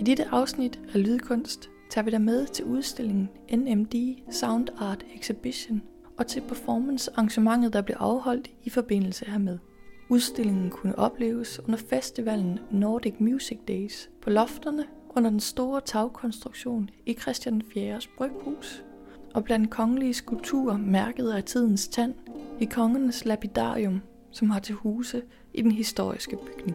dette afsnit af Lydkunst tager vi dig med til udstillingen NMD Sound Art Exhibition og til performance-arrangementet, der blev afholdt i forbindelse hermed. Udstillingen kunne opleves under festivalen Nordic Music Days på lofterne under den store tagkonstruktion i Christian 4's bryghus og blandt kongelige skulpturer mærket af tidens tand i kongernes lapidarium, som har til huse i den historiske bygning.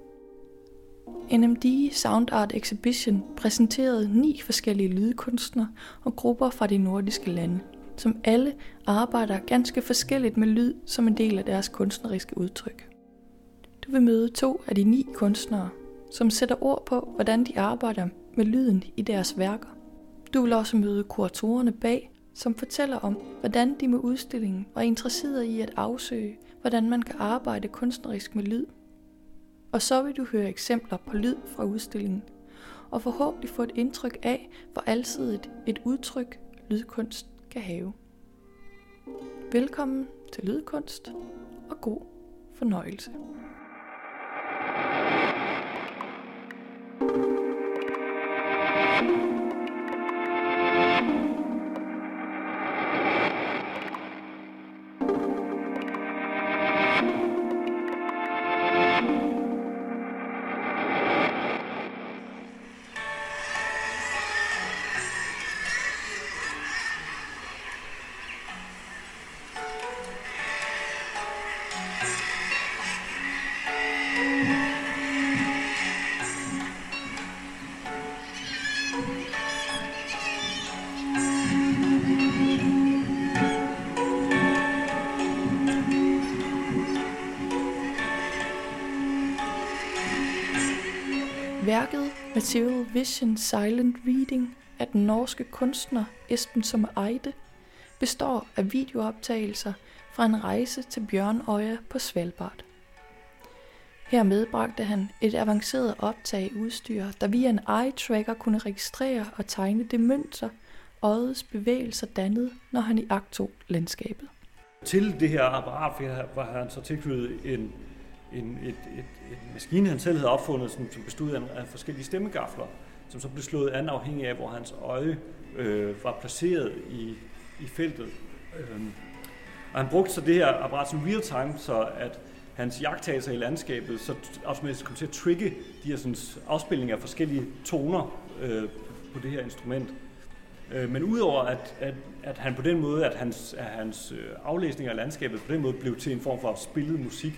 NMD Sound Art Exhibition præsenterede 9 forskellige lydkunstnere og grupper fra de nordiske lande, som alle arbejder ganske forskelligt med lyd som en del af deres kunstneriske udtryk. Du vil møde 2 af de 9 kunstnere, som sætter ord på, hvordan de arbejder med lyden i deres værker. Du vil også møde kuratorerne bag, som fortæller om, hvordan de med udstillingen var interesseret i at afsøge, hvordan man kan arbejde kunstnerisk med lyd. Og så vil du høre eksempler på lyd fra udstillingen, og forhåbentlig få et indtryk af, hvor alsidigt et udtryk lydkunst kan have. Velkommen til Lydkunst, og god fornøjelse. Værket Material Vision Silent Reading af den norske kunstner Espen Sommer Eide består af videooptagelser fra en rejse til Bjørnøya på Svalbard. Her medbragte han et avanceret optageudstyr, der via en eye-tracker kunne registrere og tegne det mønster, øjets bevægelser dannede, når han iagttog landskabet. Til det her apparat var han så tilknyttet en maskine, han selv havde opfundet, som bestod af forskellige stemmegafler, som så blev slået an afhængig af, hvor hans øje var placeret i feltet. Og han brugte så det her apparat som real time, så at hans iagttagelser i landskabet så automatisk kom til at trigge de her sådan, afspilninger af forskellige toner på det her instrument. Men udover at han på den måde, at hans aflæsning af landskabet på den måde blev til en form for spillet musik,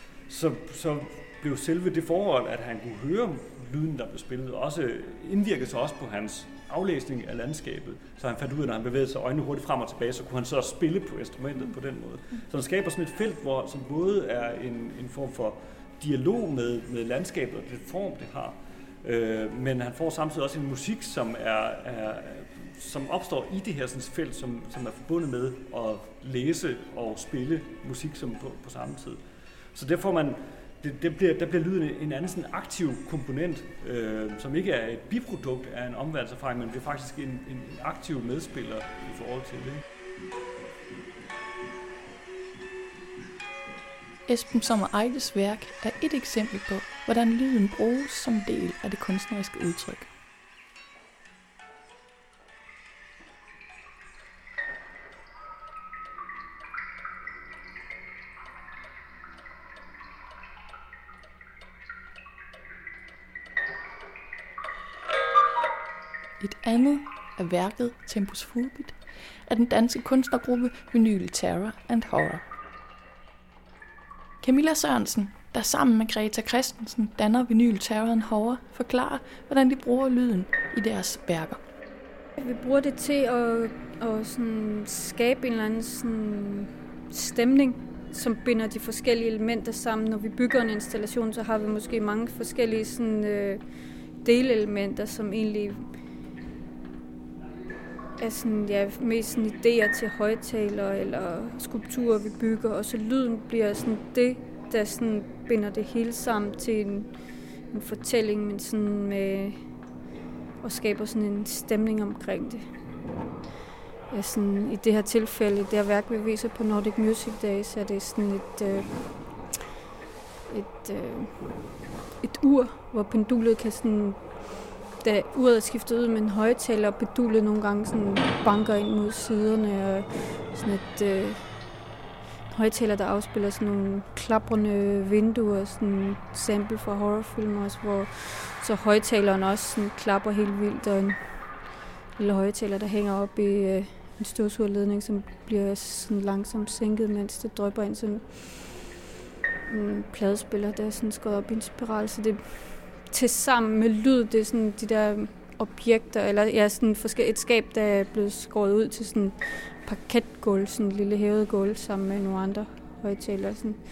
så blev selve det forhold, at han kunne høre lyden, der blev spillet, også indvirkede sig også på hans aflæsning af landskabet. Så han fandt ud af, når han bevægede sig øjnene hurtigt frem og tilbage, så kunne han så spille på instrumentet på den måde. Så han skaber sådan et felt, som både er en form for dialog med landskabet og det form, det har, men han får samtidig også en musik, som opstår i det her sådan felt, som er forbundet med at læse og spille musik som på samme tid. Så derfor der bliver lyden en anden sådan aktiv komponent, som ikke er et biprodukt af en omverdенserfaring, men det er faktisk en aktiv medspiller i forhold til det. Espen Sommer Eides værk er et eksempel på, hvordan lyden bruges som del af det kunstneriske udtryk. Et andet af værket Tempus Fugit af den danske kunstnergruppe Vinyl Terror and Horror. Camilla Sørensen, der sammen med Greta Christensen danner Vinyl Terror and Horror, forklarer, hvordan de bruger lyden i deres værker. Vi bruger det til at sådan skabe en eller anden sådan stemning, som binder de forskellige elementer sammen. Når vi bygger en installation, så har vi måske mange forskellige sådan, delelementer, som egentlig er sådan, ja, mest sådan idéer til højtalere eller skulpturer, vi bygger. Og så lyden bliver sådan det, der sådan binder det hele sammen til en fortælling, men sådan med, og skaber sådan en stemning omkring det. Ja, sådan, i det her tilfælde, det her værk, vi viser på Nordic Music Days, er det sådan et ur, hvor pendulet kan sådan, da uret er skiftet ud med en højtaler, og bedulet nogle gange sådan banker ind mod siderne, og sådan et højtaler, der afspiller sådan nogle klaprende vinduer, sådan en sample fra horrorfilm også, hvor så højtaleren også sådan klapper helt vildt, og en lille højtaler, der hænger op i en støvsugerledning, som bliver sådan langsomt sænket, mens det drypper ind som en pladespiller, der er sådan skåret op i en spiral. Så det til sammen med lyd, det er sådan de der objekter, eller ja, sådan et skab, der er blevet skåret ud til sådan parketgulv, sådan en lille hævet gulv sammen med nogle andre højtalere.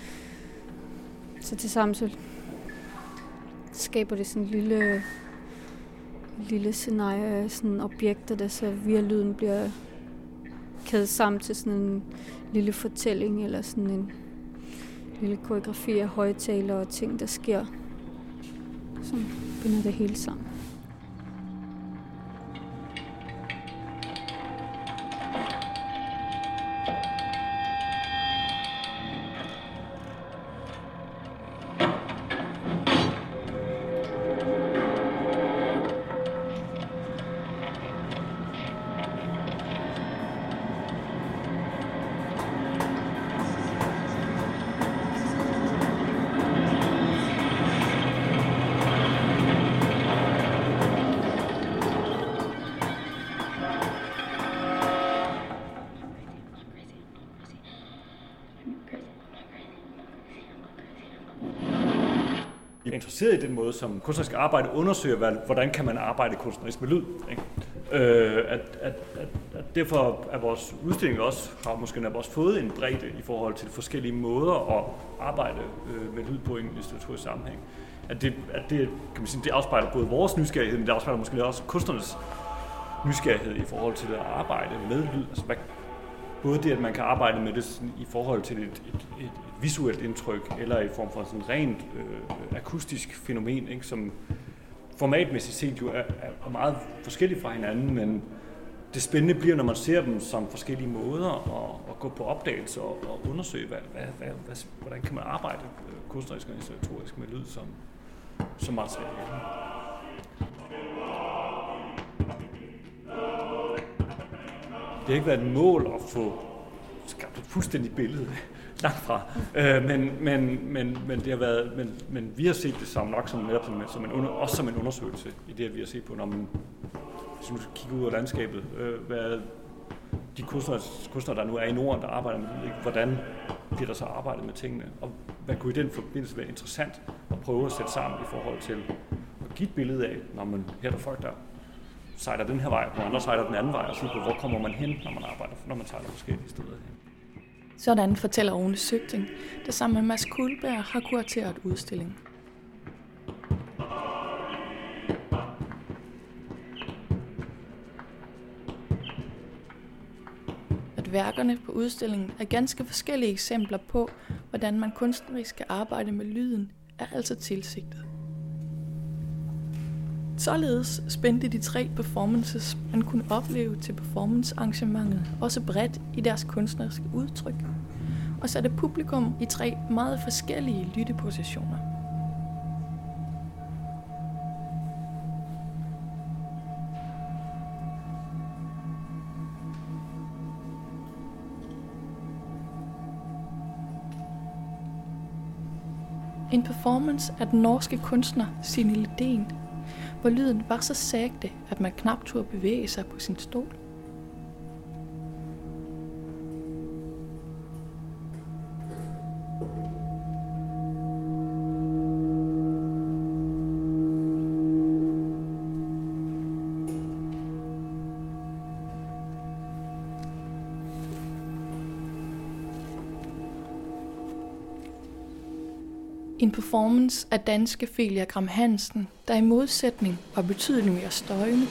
Så til sammen så skaber det sådan en lille scenarie af sådan objekter, der så via lyden bliver kædet sammen til sådan en lille fortælling, eller sådan en lille koreografi af højtalere og ting, der sker, som binder det hele sammen. Jeg er interesseret i den måde, som kunstnerisk arbejde undersøger, hvordan kan man arbejde kunstnerisk med lyd. Ikke? At derfor er vores udstilling også, har måske også fået en bredde i forhold til forskellige måder at arbejde med lyd på i en litteraturlig sammenhæng. At det kan man sige, det afspejler både vores nysgerrighed, men det afspejler måske også kunstnernes nysgerrighed i forhold til at arbejde med lyd. Altså, både det, at man kan arbejde med det i forhold til et visuelt indtryk, eller i form for sådan rent akustisk fænomen, ikke, som formatmæssigt set jo er meget forskellige fra hinanden, men det spændende bliver, når man ser dem som forskellige måder at gå på opdagelse og undersøge, hvordan kan man arbejde kunstnerisk og installatorisk med lyd som materiale. Det har ikke været et mål at få skabt et fuldstændigt billede langt fra, men det har været, men vi har set det som nok også som en undersøgelse i det, at vi har set på, når man, hvis man kigger ud af landskabet, hvad de kunstnere, der nu er i Norden, der arbejder med det, hvordan bliver der så arbejdet med tingene, og hvad kunne i den forbindelse være interessant at prøve at sætte sammen i forhold til at give et billede af, når man her der folk, der sejler den her vej, og andre sejler den anden vej, og sige på, hvor kommer man hen, når man sejler forskellige steder hen. Sådan fortæller Rune Søgting, der sammen med Mads Kuldberg har kurateret udstillingen. At værkerne på udstillingen er ganske forskellige eksempler på, hvordan man kunstnerisk skal arbejde med lyden, er altså tilsigtet. Således spændte de 3 performances, man kunne opleve til performancearrangementet, også bredt i deres kunstneriske udtryk, og satte publikum i 3 meget forskellige lyttepositioner. En performance af den norske kunstner Signe Lidén, hvor lyden var så sagte, at man knap turde bevæge sig på sin stol. En performance af danske Felia Gram Hansen, der i modsætning var betydeligt mere støjende.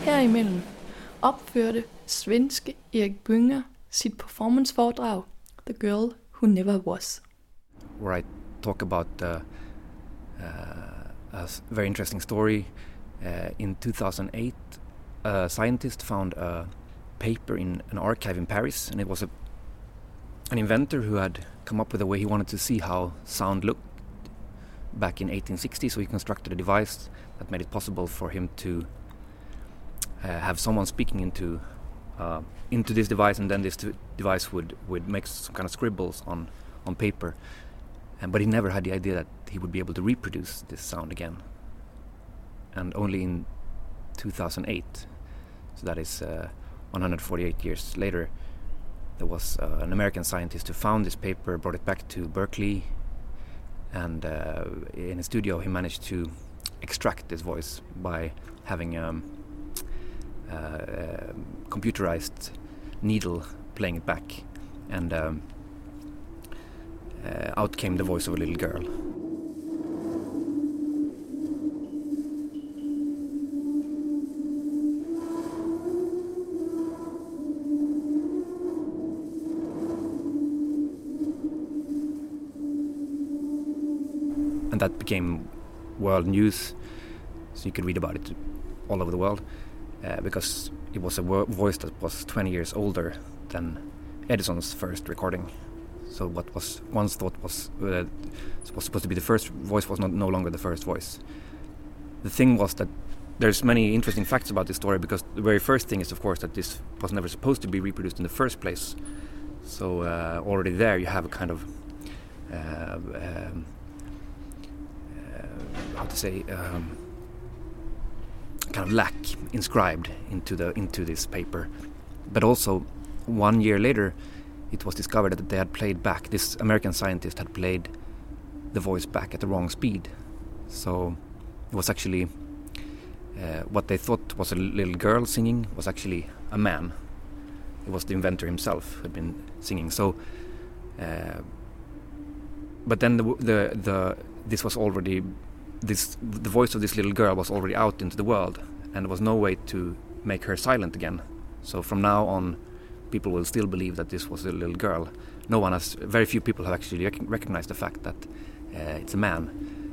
Herimellem opførte svenske Erik Bünge sit performanceforedrag The Girl Who Never Was. Where I talk about a very interesting story. In 2008, a scientist found a paper in an archive in Paris, and it was an inventor who had come up with a way he wanted to see how sound looked back in 1860, so he constructed a device that made it possible for him to have someone speaking into this device, and then this device would make some kind of scribbles on paper. But he never had the idea that he would be able to reproduce this sound again. And only in 2008, so that is 148 years later, there was an American scientist who found this paper, brought it back to Berkeley, and in his studio he managed to extract this voice by having a computerized needle playing it back, and out came the voice of a little girl. And that became world news, so you could read about it all over the world, because it was a voice that was 20 years older than Edison's first recording. So what was once thought was supposed to be the first voice was no longer the first voice. The thing was that there's many interesting facts about this story, because the very first thing is, of course, that this was never supposed to be reproduced in the first place. So already there you have a kind of kind of lack inscribed into this paper. But also 1 year later, it was discovered that they had played back. This American scientist had played the voice back at the wrong speed. So it was actually what they thought was a little girl singing was actually a man. It was the inventor himself who had been singing. So, but then the voice of this little girl was already out into the world, and there was no way to make her silent again. So from now on, people will still believe that this was a little girl. Very few people have actually recognized the fact that it's a man.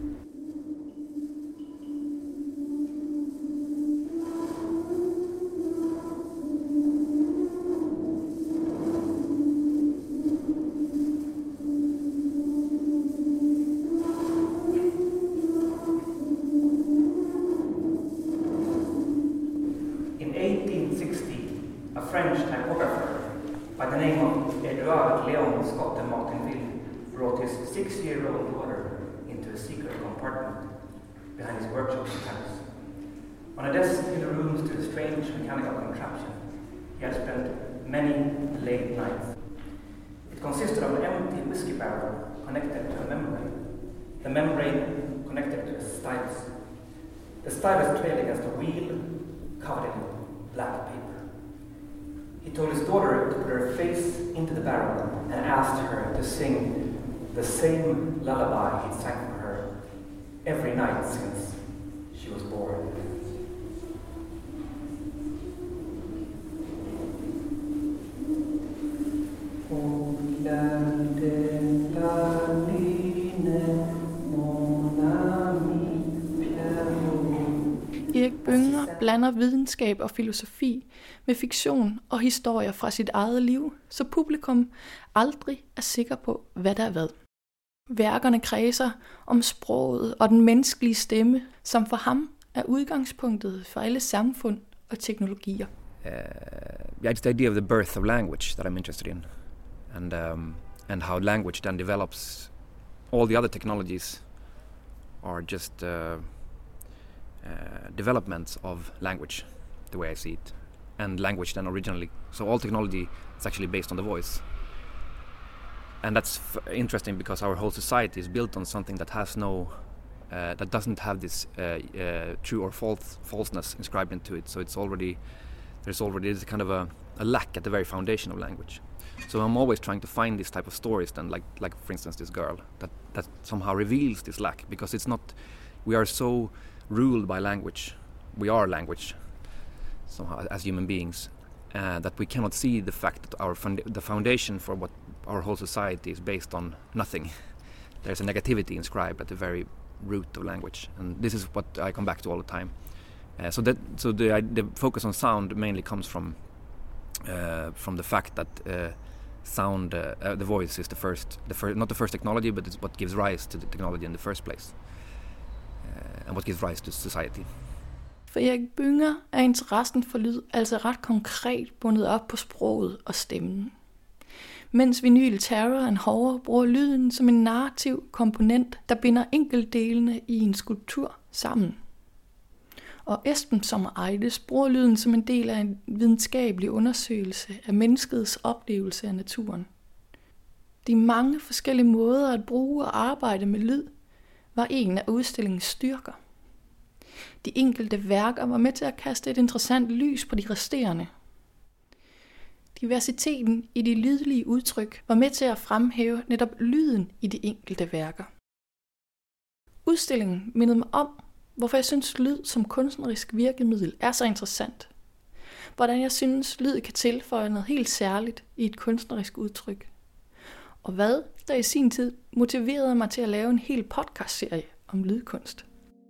In 1860, a French typographer by the name of Edouard Léon Scott de Martinville brought his 6-year-old daughter into a secret compartment behind his workshop in Paris. On a desk in the room stood a strange mechanical contraption. He had spent many late nights. It consisted of an empty whiskey barrel connected to a membrane. The membrane connected to a stylus. The stylus trailed against a wheel covered in black paper. He told his daughter to put her face into the barrel and asked her to sing the same lullaby he'd sang for her every night since she was born. Erik Bünge blander videnskab og filosofi med fiktion og historier fra sit eget liv, så publikum aldrig er sikker på, hvad der er hvad. Værkerne kredser om sproget og den menneskelige stemme, som for ham er udgangspunktet for alle samfund og teknologier. It's the idea of the birth of language that I'm interested in, and how language then develops. All the other technologies are just developments of language, the way I see it, and language then originally. So all technology is actually based on the voice, and that's interesting because our whole society is built on something that has that doesn't have this true or falseness inscribed into it. So there's already this kind of a lack at the very foundation of language. So I'm always trying to find this type of stories then, like for instance this girl, that somehow reveals this lack, because we are so ruled by language. We are language. somehow as human beings, that we cannot see the fact that the foundation for what our whole society is based on nothing. There's a negativity inscribed at the very root of language, and this is what I come back to all the time. So the focus on sound mainly comes from the fact that sound, the voice, is not the first technology, but it's what gives rise to the technology in the first place, and what gives rise to society. For Erik Bünger er interessen for lyd altså ret konkret bundet op på sproget og stemmen. Mens Vinyl Terror and Horror bruger lyden som en narrativ komponent, der binder enkeltdelene i en skulptur sammen. Og Esben Sommer Eides bruger lyden som en del af en videnskabelig undersøgelse af menneskets oplevelse af naturen. De mange forskellige måder at bruge og arbejde med lyd var en af udstillingens styrker. De enkelte værker var med til at kaste et interessant lys på de resterende. Diversiteten i de lydlige udtryk var med til at fremhæve netop lyden i de enkelte værker. Udstillingen mindede mig om, hvorfor jeg synes lyd som kunstnerisk virkemiddel er så interessant. Hvordan jeg synes lyd kan tilføje noget helt særligt i et kunstnerisk udtryk. Og hvad der i sin tid motiverede mig til at lave en hel podcastserie om lydkunst.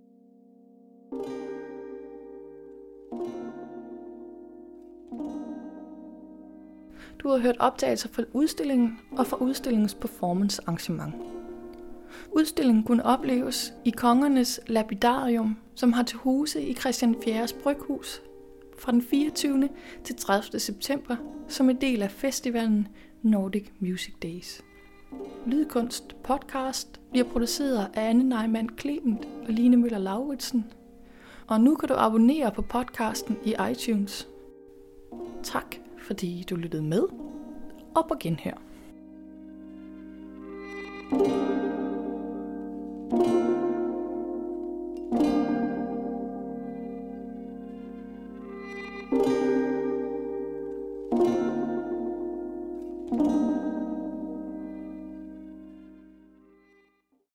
Du har hørt optagelser fra udstillingen og fra udstillingens performance arrangement. Udstillingen kunne opleves i Kongernes Lapidarium, som har til huse i Christian IV's Bryghus fra den 24. til 30. september som en del af festivalen Nordic Music Days. Lydkunst podcast bliver produceret af Anne Neumann Clement og Line Møller Lauritsen. Og nu kan du abonnere på podcasten i iTunes. Tak fordi du lyttede med, og på genhør.